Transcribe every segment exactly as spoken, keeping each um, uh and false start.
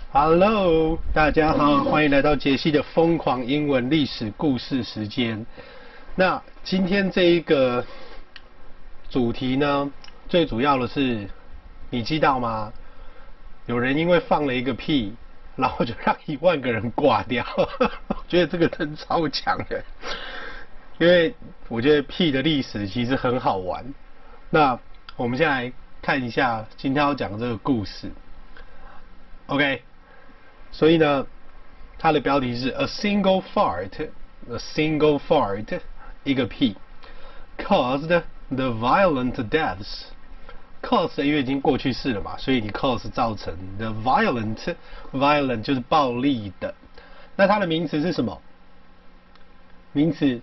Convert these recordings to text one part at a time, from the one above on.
Hello， 大家好，歡迎來到傑西的瘋狂英文歷史故事時間。那今天這一個主題呢，最主要的是，你知道嗎？有人因為放了一個屁，然後就讓一萬個人掛掉。我覺得這個真超強的，因為我覺得屁的歷史其實很好玩。那我們先來看一下今天要講的這個故事。OK。所以呢，它的標題是 A single fart，a single fart， 一個屁 ，caused the violent deaths。cause 因為已經過去式了嘛，所以你 cause 造成 the violent，violent 就是暴力的。那它的名詞是什麼？名詞，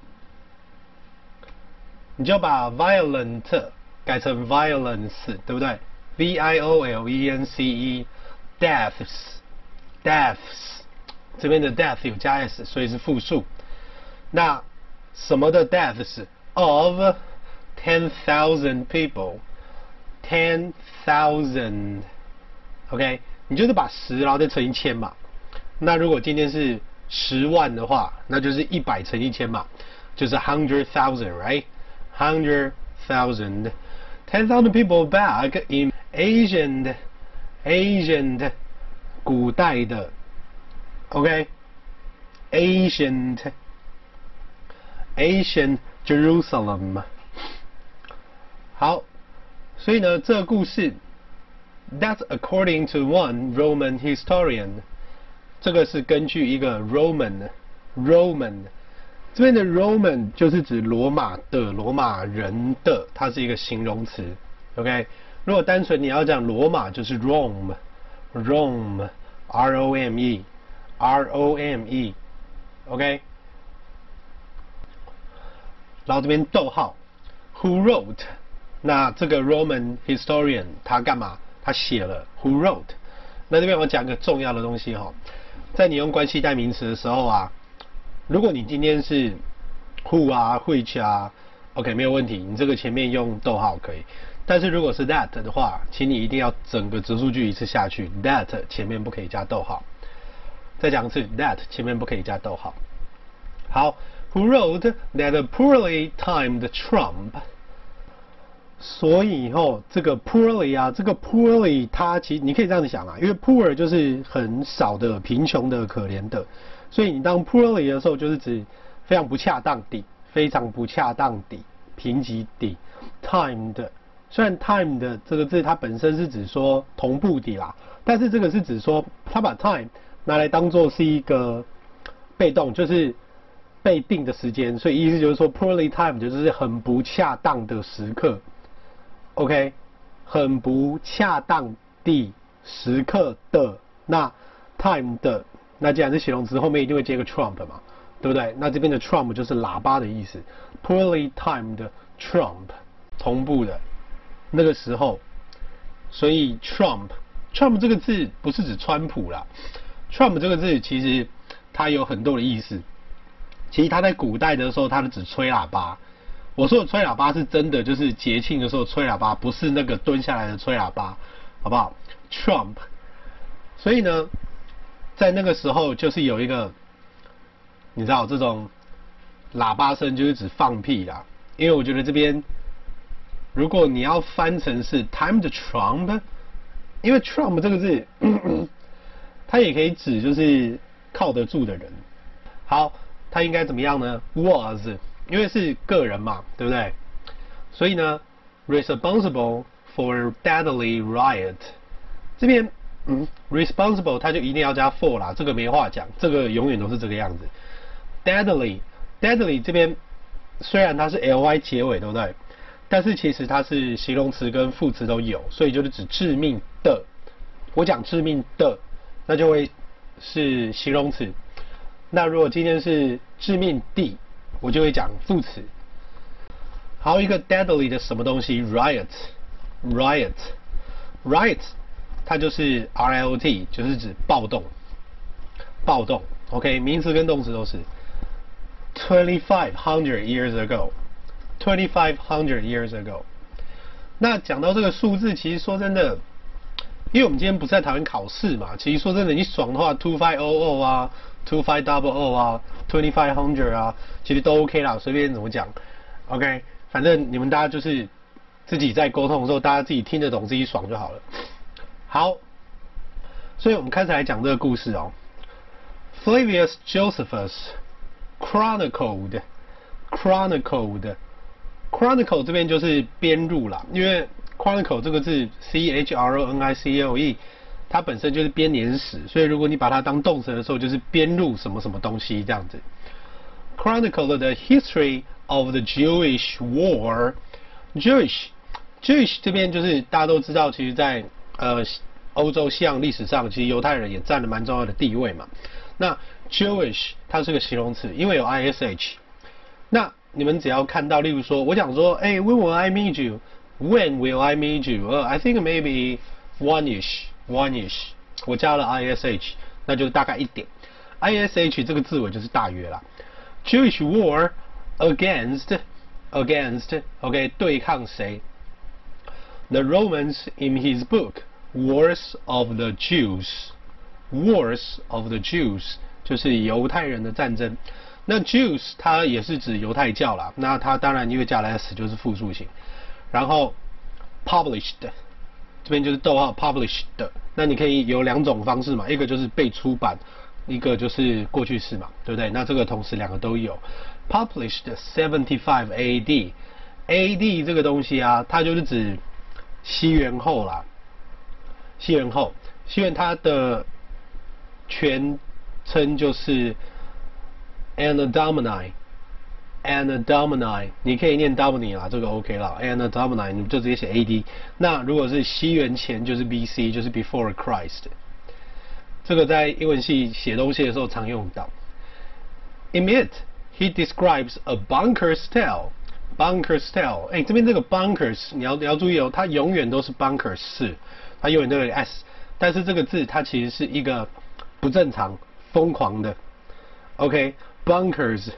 你就把 violent 改成 violence， 對不對 ？V I O L E N C E，deaths。deaths 這邊的 death 有加 s， 所以是複數。那什麼的 deaths of ten thousand people， ten thousand，OK， 你就是把十然後再乘一千嘛。那如果今天是十萬的話，那就是一百乘一千嘛，就是 hundred thousand，right？hundred thousand，ten thousand people back in ancient ancient。古代的 ，OK，ancient ancient Jerusalem。好，所以呢，這個故事 ，That's according to one Roman historian。這個是根據一個 Roman Roman 這邊的 Roman 就是指羅馬的羅馬人的，它是一個形容詞。OK， 如果單純你要講羅馬，就是 Rome。Rome, R O M E, R O M E, OK。然后這邊逗號 ，Who wrote？ 那這個 Roman historian 他幹嘛？他寫了 Who wrote？ 那這邊我講個重要的東西哈，在你用關係代名詞的時候啊，如果你今天是 Who 啊 ，Which 啊 ，OK 沒有問題，你這個前面用逗號可以。但是如果是 that 的話，請你一定要整個直述句一次下去 ，that 前面不可以加逗號。再講一次 ，that 前面不可以加逗號。好 ，Who wrote that a poorly timed trump？ 所以後這個 poorly 啊，這個 poorly 它其實你可以這樣子想啊，因為 poor 就是很少的、貧窮的、可憐的，所以你當 poorly 的時候，就是指非常不恰當地、非常不恰當地、貧瘠地 timed。雖然 time 的這個字它本身是指說同步的啦，但是這個是指說它把 time 拿來當做是一個被動，就是被定的時間，所以意思就是說 poorly timed 就是很不恰當的時刻 ，OK， 很不恰當的時刻的那 time 的，那既然是形容詞，後面一定會接個 trump 嘛，對不對？那這邊的 trump 就是喇叭的意思 ，poorly timed trump 同步的。那個時候，所以 Trump Trump 這個字不是指川普啦 ，Trump 這個字其實它有很多的意思。其實它在古代的時候，它是指吹喇叭。我說的吹喇叭是真的，就是節慶的時候吹喇叭，不是那個蹲下來的吹喇叭，好不好 ？Trump。所以呢，在那個時候就是有一個，你知道這種喇叭聲就是指放屁啦，因為我覺得這邊。如果你要翻成是 timed trump， 因為 trump 這個字，咳咳它也可以指就是靠得住的人。好，它應該怎麼樣呢 ？was， 因為是個人嘛，對不對？所以呢 ，responsible for deadly riot。這邊，嗯 ，responsible 它就一定要加 for 啦，這個沒話講，這個永遠都是這個樣子。deadly，deadly 這邊雖然它是 ly 結尾，對不對？但是其實它是形容詞跟副詞都有，所以就是指致命的。我講致命的，那就會是形容詞。那如果今天是致命的，我就會講副詞。還有一個 deadly 的什麼東西 ，riot，riot，riot， 它就是 R I O T， 就是指暴動，暴動。OK， 名詞跟動詞都是。twenty-five hundred years ago。twenty-five hundred years ago。那講到這個數字，其實說真的， 因為我們今天不是在討論考試嘛，其實說真的，你爽的話 two five zero zero 啊 two five double zero 啊 twenty five hundred 啊，其實都 OK 啦，隨便怎麼講 ，OK， 反正你們大家就是自己在溝通的時候，大家自己聽得懂，自己爽就好了。好，所以我們開始來講這個故事哦。Flavius Josephus chronicled chronicled chronicle 這邊就是編入啦，因為 chronicle 這個字 C H R O N I C L E 它本身就是編年史，所以如果你把它當動詞的時候，就是編入什麼什麼東西這樣子。Chronicle the history of the Jewish war. Jewish Jewish 這邊就是大家都知道，其實在呃歐洲西洋歷史上，其實猶太人也佔了蠻重要的地位嘛。那 Jewish 它是個形容詞，因為有 I S H。那你們只要看到，例如說，我講說，哎、欸、，When will I meet you? When will I meet you? Uh, I think maybe one-ish, one-ish. 我加了 I S H， 那就是大概一點。I S H 這個字尾就是大約啦。Jewish war against against OK 對抗誰 ？The Romans in his book Wars of the Jews. Wars of the Jews 就是猶太人的戰爭。那 Jews 它也是指猶太教啦，那它當然因為加了 s 就是複數型。然後 published 這邊就是逗號 published， 那你可以有兩種方式嘛，一個就是被出版，一個就是過去式嘛，對不對？那這個同時兩個都有。Published seventy-five A D，A D 這個東西啊，它就是指西元後啦，西元後，西元它的全稱就是 Anno Domini。Anno Domini， 你可以念 Domini 啦，這個 OK 啦。Anno Domini， 你就直接寫 A D。那如果是西元前，就是 B C， 就是 Before Christ。這個在英文系寫東西的時候常用到。In it, he describes a bunker's tale. Bunker's tale， 哎，這邊這個 bunkers， 你要你要注意哦，它永遠都是 bunkers 是，它永遠都有 s， 但是這個字它其實是一個不正常、瘋狂的。OK，bunkers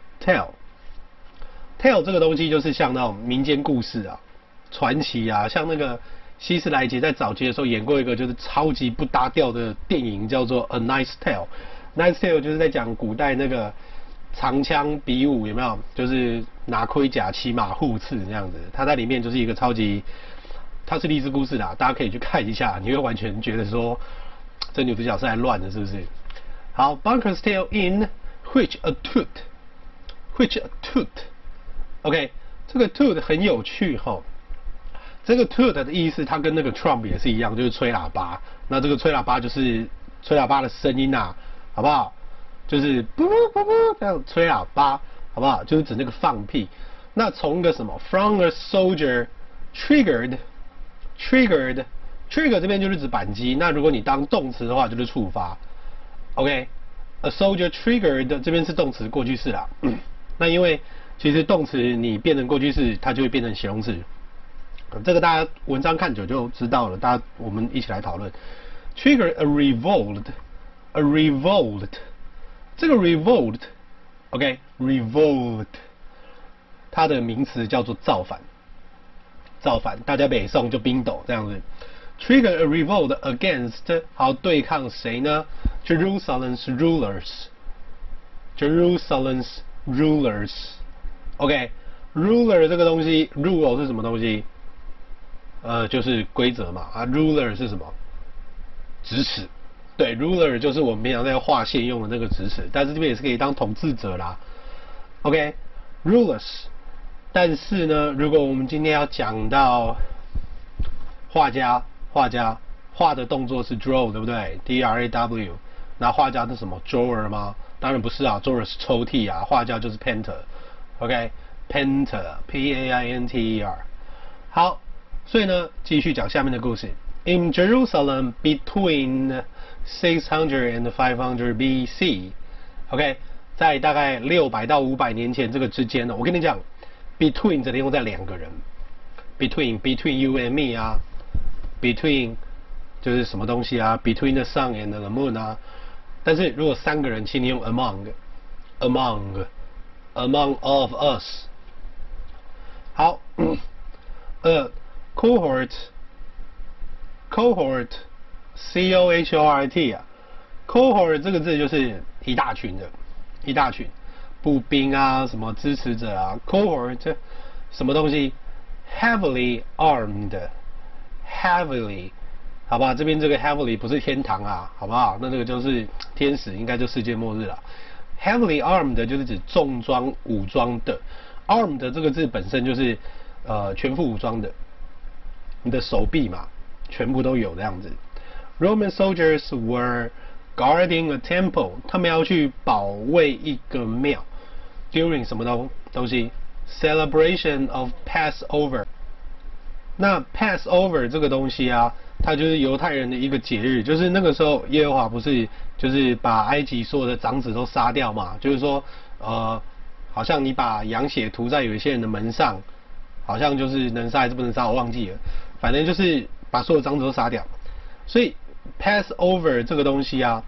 tale。tale 這個東西就是像那種民間故事啊、傳奇啊，像那個希斯萊傑在早期的時候演過一個就是超級不搭調的電影，叫做 A Knight's Tale。Knight's Tale 就是在講古代那個長槍比武，有沒有？就是拿盔甲、騎馬互刺這樣子。它在裡面就是一個超級，它是勵志故事啦，大家可以去看一下，你會完全覺得說這女主角是來亂的，是不是？好 ，Bunker's Tale in which a tooth，which a tooth。OK， 這個 tooth 很有趣哈。這個 tooth 的意思，它跟那個 trump 也是一樣，就是吹喇叭。那這個吹喇叭就是吹喇叭的聲音啊，好不好？就是啵啵啵這樣吹喇叭，好不好？就是指那個放屁。那從一個什麼 ，from a soldier triggered triggered trigger 這邊就是指扳機。那如果你當動詞的話，就是觸發。OK，a soldier triggered 這邊是動詞過去式啦。嗯、那因為其實動詞你變成過去式，它就會變成形容詞。這個大家文章看久就知道了。大家我們一起來討論。Trigger a revolt, a revolt。這個 revolt，OK，revolt，、okay, 它的名詞叫做造反。造反，大家北宋就冰斗這樣子。Trigger a revolt against， 好，對抗誰呢 ？Jerusalem's rulers。Jerusalem's rulers。OK，ruler、okay, 這個東西 ，rule 是什麼東西？呃，就是規則嘛。啊 ，ruler 是什麼？直尺。對 ，ruler 就是我們平常在畫線用的那個直尺，但是這邊也是可以當統治者啦。OK，rulers、okay, 但是呢，如果我們今天要講到畫家，畫家畫的動作是 draw， 對不對 ？D R A W， 那畫家是什麼 ？drawer 嗎？當然不是啊 ，drawer 是抽屜啊，畫家就是 painter。OK，painter，P A I N T E R。好，所以呢，繼續講下面的故事。In Jerusalem between six hundred and five hundred B C，OK， 在大概六百到五百年前這個之間呢，我跟你講 ，between 這裡用在兩個人 ，between between you and me 啊 ，between 就是什麼東西啊 ，between the sun and the moon 啊，但是如果三個人，請你用 among，among among all of us。好，呃 ，cohort cohort，c o h o r t 啊 ，cohort 這個字就是一大群的，一大群步兵啊，什麼支持者啊 ，cohort 什麼東西 ，heavily armed，heavily。好吧，這邊這個 heavily 不是天堂啊，好不好？那這個就是天使，應該就世界末日了。heavily armed 就是指重裝武裝的 ，armed 這個字本身就是呃全副武裝的，你的手臂嘛，全部都有這樣子。Roman soldiers were guarding a temple， 他們要去保衛一個廟 ，during 什麼東東西 ？Celebration of Passover。那 Passover 這個東西啊。它就是猶太人的一個節日，就是那個時候耶和華不是就是把埃及所有的長子都殺掉嘛？就是說，呃，好像你把羊血塗在有一些人的門上，好像就是能殺還是不能殺，我忘記了。反正就是把所有長子都殺掉。所以 Passover 這個東西啊，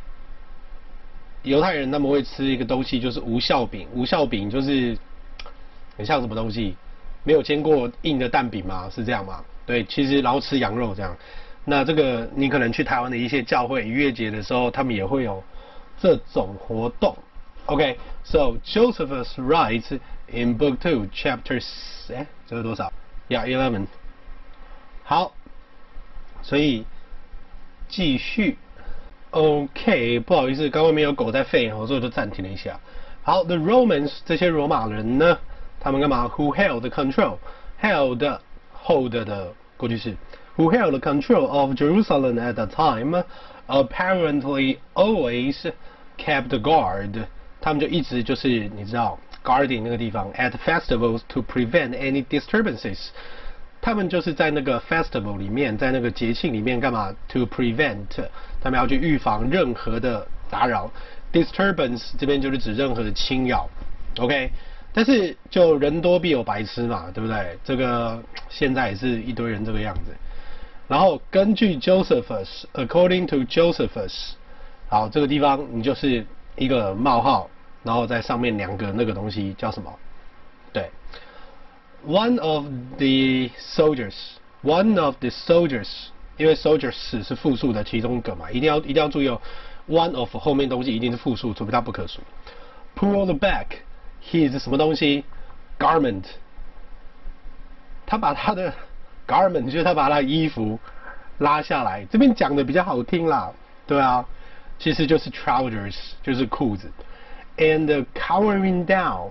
猶太人他們會吃一個東西，就是無酵餅。無酵餅就是很像什麼東西？沒有煎過硬的蛋餅嗎？是這樣嗎？對，其實然後吃羊肉這樣，那這個你可能去台灣的一些教會逾越節的時候，他們也會有這種活動。OK, so Josephus writes in Book Two, Chapter 哎，這是多少 ？Yeah, eleven. 好，所以繼續。OK, 不好意思，剛剛沒有狗在吠，所以我就暫停了一下。好 ，The Romans 這些羅馬人呢，他們幹嘛 ？Who held control? Held hold 的過去式 ，who held control of Jerusalem at the time, apparently always kept guard。他們就一直就是你知道 guarding 那個地方 at festivals to prevent any disturbances。他們就是在那個 festival 裡面，在那個節慶裡面幹嘛 ？to prevent， 他們要去預防任何的打擾。disturbance 這邊就是指任何的侵擾 ，OK。但是就人多必有白痴嘛，對不對？這個現在也是一堆人這個樣子。然後根據 Josephus，according to Josephus， 好，這個地方你就是一個冒號，然後在上面兩個那個東西叫什麼？對 ，one of the soldiers，one of the soldiers， 因為 soldiers 是複數的其中一個嘛，一定要一定要注意哦 ，one of 後面東西一定是複數，除非它不可數。Pulled back。His 什麼東西 ？Garment， 他把他的 garment 就是他把他的衣服拉下來，這邊講的比較好聽啦，對啊，其實就是 trousers 就是褲子 ，and cowering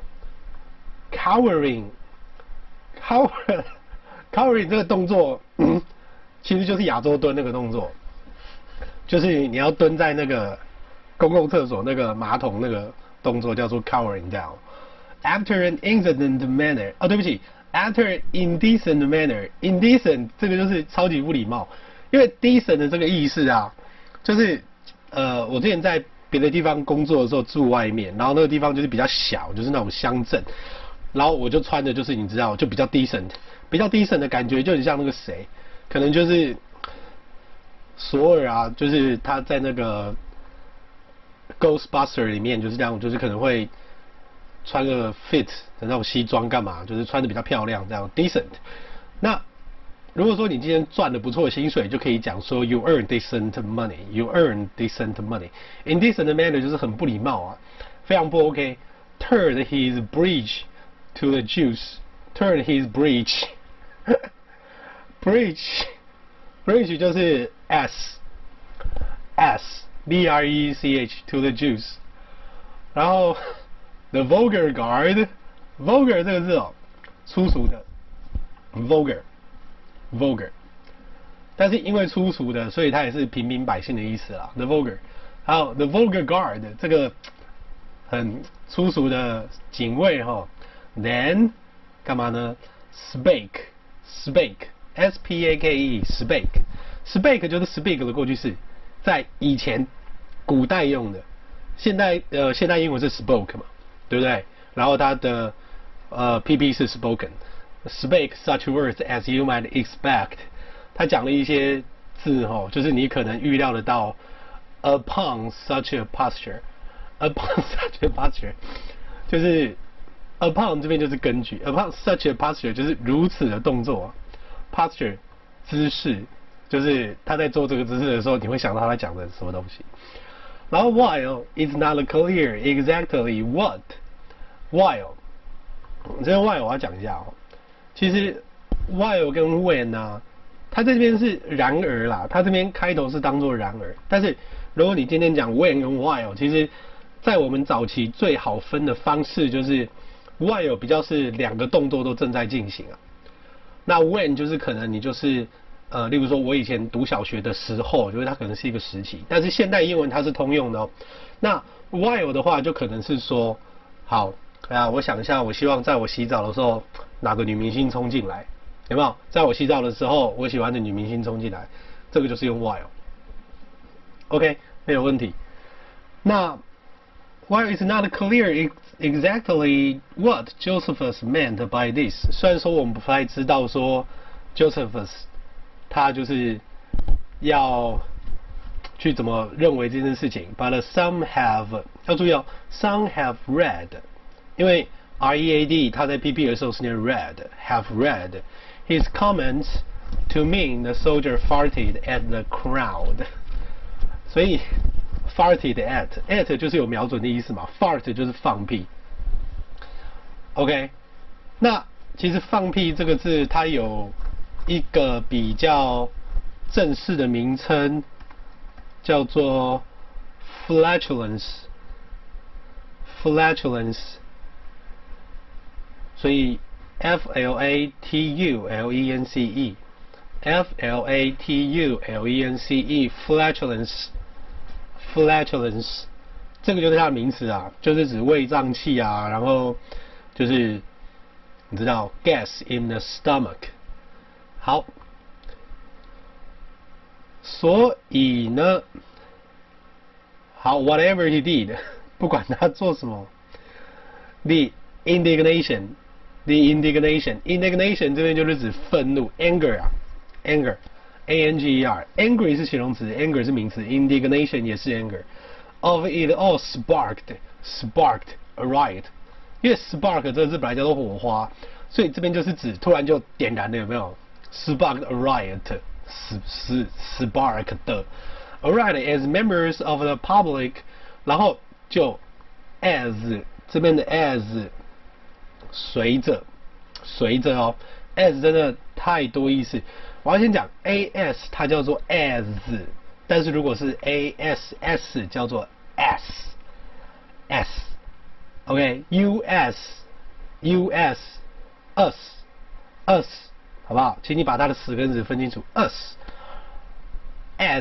down，cowering，cower cowering 這個動作，嗯，其實就是亞洲蹲那個動作，就是你要蹲在那個公共廁所那個馬桶那個動作叫做 cowering down。After an indecent manner， 哦，對不起 ，after indecent manner，indecent 這個就是超級不禮貌，因為 decent 的這個意思啊，就是呃，我之前在別的地方工作的時候住外面，然後那個地方就是比較小，就是那種鄉鎮，然後我就穿的就是你知道，就比較 decent， 比較 decent 的感覺就很像那個誰，可能就是索爾啊，就是他在那個 Ghostbuster 裡面就是這樣，就是可能會。穿個 fit 的那種西裝幹嘛？就是穿的比較漂亮，這樣 decent。那如果說你今天賺了不錯的薪水，就可以講說 you earn decent money，you earn decent money。indecent manner 就是很不禮貌啊，非常不 OK。Turn his breech to the Jews，turn his breech，breech，breech 就是 s s b r e c h to the Jews， 然後。The vulgar guard，vulgar 這個字哦，粗俗的 ，vulgar，vulgar， 但是因為粗俗的，所以它也是平民百姓的意思啦。The vulgar， 還有 the vulgar guard 這個很粗俗的警衛哈、哦。Then 幹嘛呢 ？Spake，spake，s p a k e，spake，spake 就是 speak 的過去式，在以前古代用的，現代呃現代英文是 spoke 嘛。對不對？然後它的呃 P P 是 spoken，spake such words as you might expect。他講了一些字哦，就是你可能預料得到。Upon such a posture，upon such a posture， 就是 upon 這邊就是根據 ，upon such a posture 就是如此的動作 ，posture 姿勢就是他在做這個姿勢的時候，你會想到他在講的什麼東西。然後 while it's not clear exactly what while 這邊 while 我要講一下哦，其實 while 跟 when 啊，它這邊是然而啦，它這邊開頭是當做然而，但是如果你今天講 when 跟 while， 其實在我們早期最好分的方式就是 while 比較是兩個動作都正在進行啊，那 when 就是可能你就是呃，例如說我以前讀小學的時候，就是它可能是一個時期，但是現代英文它是通用的哦。那 while 的話就可能是說，好啊，我想一下，我希望在我洗澡的時候哪個女明星衝進來，有沒有？在我洗澡的時候，我喜歡的女明星衝進來，這個就是用 while。OK， 沒有問題。那 while it's not clear exactly what Josephus meant by this， 雖然說我們不太知道說 Josephus他就是要去怎麼認為這件事情 ，but some have 要注意哦 ，some have read， 因為 R E A D 他在 P P 的時候是念 read，have read his comments to mean the soldier farted at the crowd， 所以 farted at at 就是有瞄準的意思嘛 ，fart 就是放屁。OK， 那其實放屁這個字它有一個比較正式的名稱叫做 flatulence，flatulence， 所以 F L A T U L E N C E，F L A T U L E N C E，flatulence，flatulence， 這個就是它的名詞啊，就是指胃脹氣啊，然後就是你知道 gas in the stomach。好，所以呢，好 ，whatever he did， 不管他做什麼 ，the indignation，the indignation，indignation 這邊就是指憤怒 ，anger 啊 ，anger，a n g e r，angry 是形容詞 ，anger 是名詞 ，indignation 也是 anger，of it all sparked，sparked a riot， 因為 spark 這個字本來叫做火花，所以這邊就是指突然就點燃了，有沒有？ Sparked a riot, sparked a riot as members of the public， 然後就 as 這邊的 as 隨着隨着哦 as 真的太多意思，我要先講 as 它叫做 as， 但是如果是 ass 叫做 s s OK us us us us。好不好？請你把它的词跟词分清楚。us as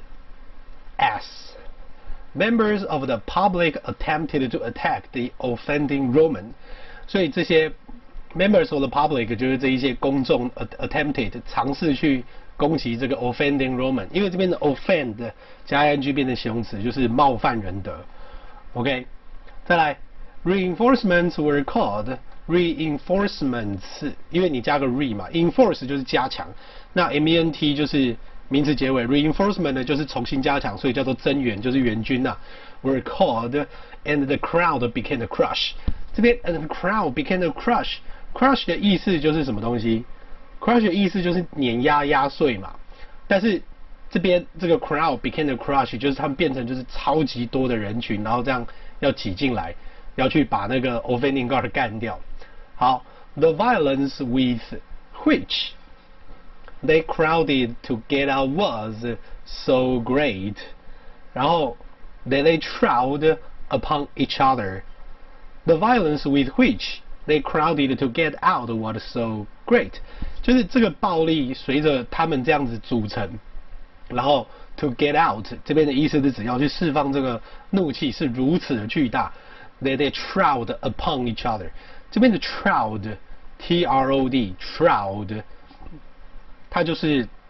as members of the public attempted to attack the offending Roman， 所以这些 members of the public 就是这一些公众 attempted 嘗試去攻擊這個 offending Roman， 因為這邊的 offend 加 ing 變成形容詞，就是冒犯人的。OK， 再來 reinforcements were called。reinforcements， 因為你加個 re 嘛 ，enforce 就是加強，那 ment 就是名詞結尾 ，reinforcement 呢就是重新加強，所以叫做增援，就是援軍吶、啊。Were called and the crowd became a crush。這邊 and the crowd became a crush，crush 的意思就是什麼東西 ？crush 的意思就是碾壓、壓碎嘛。但是這邊這個 crowd became a crush， 就是他們變成就是超級多的人群，然後這樣要擠進來，要去把那個 offending guard 幹掉。好 ，the violence with which they crowded to get out was so great， 然後 that they trod upon each other。The violence with which they crowded to get out was so great， 就是這個暴力隨着他們這樣子組成，然後 to get out 這邊的意思是指要去釋放這個怒氣是如此的巨大 ，that they trod upon each other。這邊的 trod T R O D trod， 它就是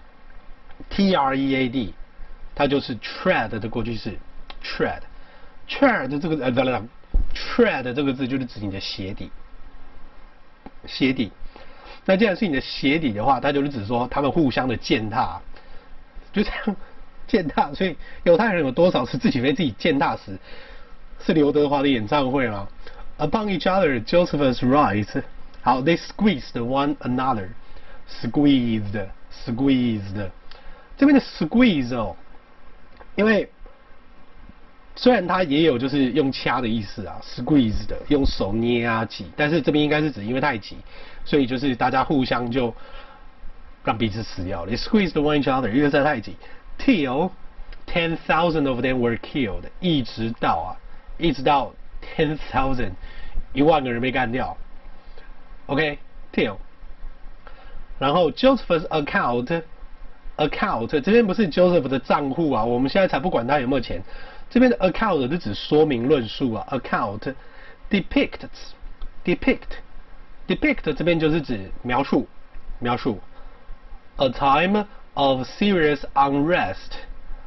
T R E A D， 它就是 tread 的過去式 tread tread 這個呃等等 tread 這個字就是指你的鞋底鞋底。那既然是你的鞋底的話，它就是指說他們互相的踐踏，就這樣踐踏。所以猶太人有多少是自己被自己踐踏死？是劉德華的演唱會嗎？ Upon each other, Josephus writes, how they squeezed one another. Squeezed, squeezed. 這邊的 squeeze 哦，因為雖然它也有就是用掐的意思啊 ，squeeze 的用手捏啊擠，但是這邊應該是指因為太擠，所以就是大家互相就讓彼此死掉了。They squeezed one each other， 因為在太擠。Till ten thousand of them were killed， 一直到啊，一直到 ten thousand， 一萬個人被幹掉。OK，till，、okay, 然後 Joseph's account，account 這邊不是 Joseph 的賬戶啊，我們現在才不管他有沒有錢。這邊的 account 是指說明論述啊 ，account depicts depict depict 這邊就是指描述描述 a time of serious unrest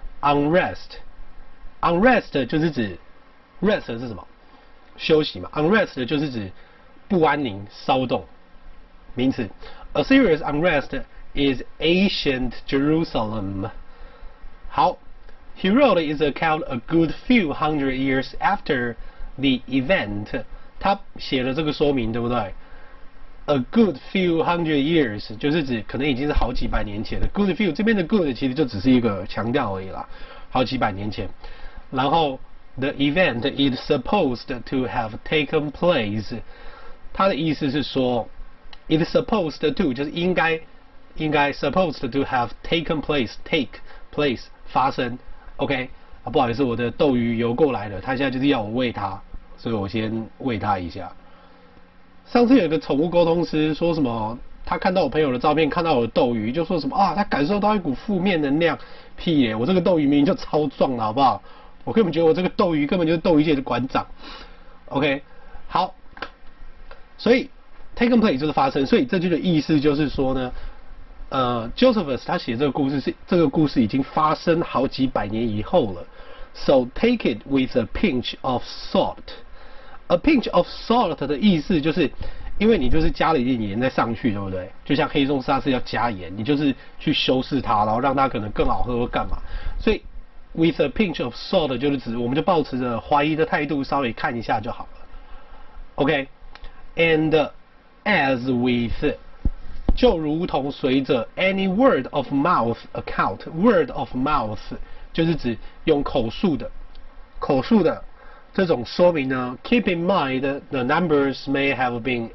unrest unrest 就是指 rest 是什麼？休息嘛 ，unrest 就是指不安寧、騷動，名詞。A serious unrest is ancient Jerusalem。好。He wrote his account a good few hundred years after the event。他寫了這個說明，對不對 ？A good few hundred years 就是指可能已經是好幾百年前的。Good few 這邊的 good 其實就只是一個強調而已啦，好幾百年前。然後 the event is supposed to have taken place。他的意思是說 ，it is supposed to 就是應該應該 supposed to have taken place take place 發生。OK， 啊，不好意思，我的鬥魚游過來了，他現在就是要我餵它，所以我先餵它一下。上次有一個寵物溝通師說什麼，他看到我朋友的照片，看到我的鬥魚，就說什麼啊，他感受到一股負面能量。屁耶，我這個鬥魚明明就超壯了，好不好？我根本覺得我這個鬥魚根本就是鬥魚界的館長。OK， 好，所以 taken place 就是發生，所以這句的意思就是說呢。呃 ，Josephus 他寫這個故事是這個故事已經發生好幾百年以後了 ，so take it with a pinch of salt。A pinch of salt 的意思就是，因為你就是加了一點鹽再上去，對不對？就像黑松沙士要加鹽，你就是去修飾它，然後讓它可能更好喝或幹嘛。所以 with a pinch of salt 就是指，我們就抱持着懷疑的態度，稍微看一下就好了。OK，and、okay? as with 就如同隨着 any word of mouth account，word of mouth 就是指用口述的、口述的這種說明呢。Keep in mind the numbers may have been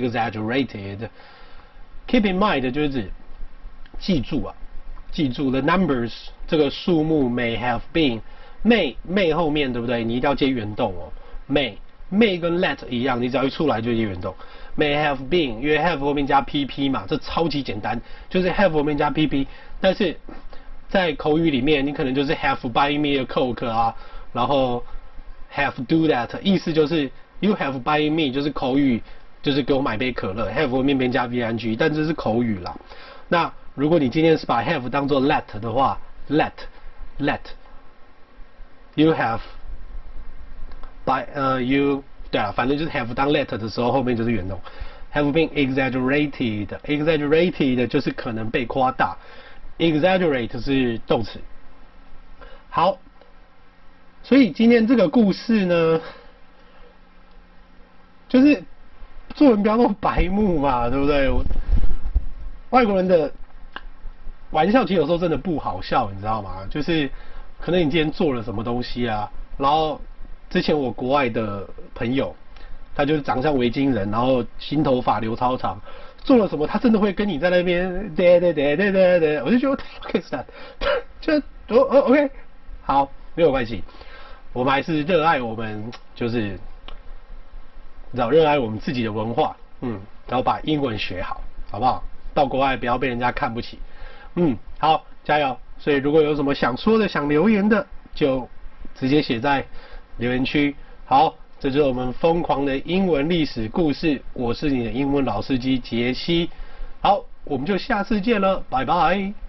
exaggerated。Keep in mind 就是指記住啊，記住 the numbers 這個數目 may have been may may 後面對不對？你一定要接原動哦 ，may may 跟 let 一樣，你只要一出來就接原動。May have been， 因為 have 後面加 pp 嘛，這超級簡單，就是 have 後面加 pp。但是在口語裡面，你可能就是 have buy me a coke 啊，然後 have do that， 意思就是 you have buy me 就是口語，就是給我買杯可樂 ，have 後面邊加 ving， 但這是口語啦。那如果你今天是把 have 當做 let 的話 ，let let you have by 呃、uh, you。對啊，反正就是 have 當 let 的時候，後面就是原動。Have been exaggerated，exaggerated 就是可能被誇大 ，exaggerate 是動詞。好，所以今天這個故事呢，就是做人不要那麼白目嘛，對不對？外國人的玩笑其實有時候真的不好笑，你知道嗎？就是可能你今天做了什麼東西啊，然後。之前我國外的朋友，他就是長相維京人，然後新頭髮留超長，做了什麼他真的會跟你在那邊對對對對對對，我就覺得 what the fuck is that？ 就哦哦 OK， 好，沒有關係，我們還是熱愛我們就是，你知道熱愛我們自己的文化，嗯，然後把英文學好，好不好？到國外不要被人家看不起，嗯，好，加油！所以如果有什麼想說的、想留言的，就直接寫在留言區。好，這就是我們瘋狂的英文歷史故事。我是你的英文老司機傑西。好，我們就下次見了，拜拜。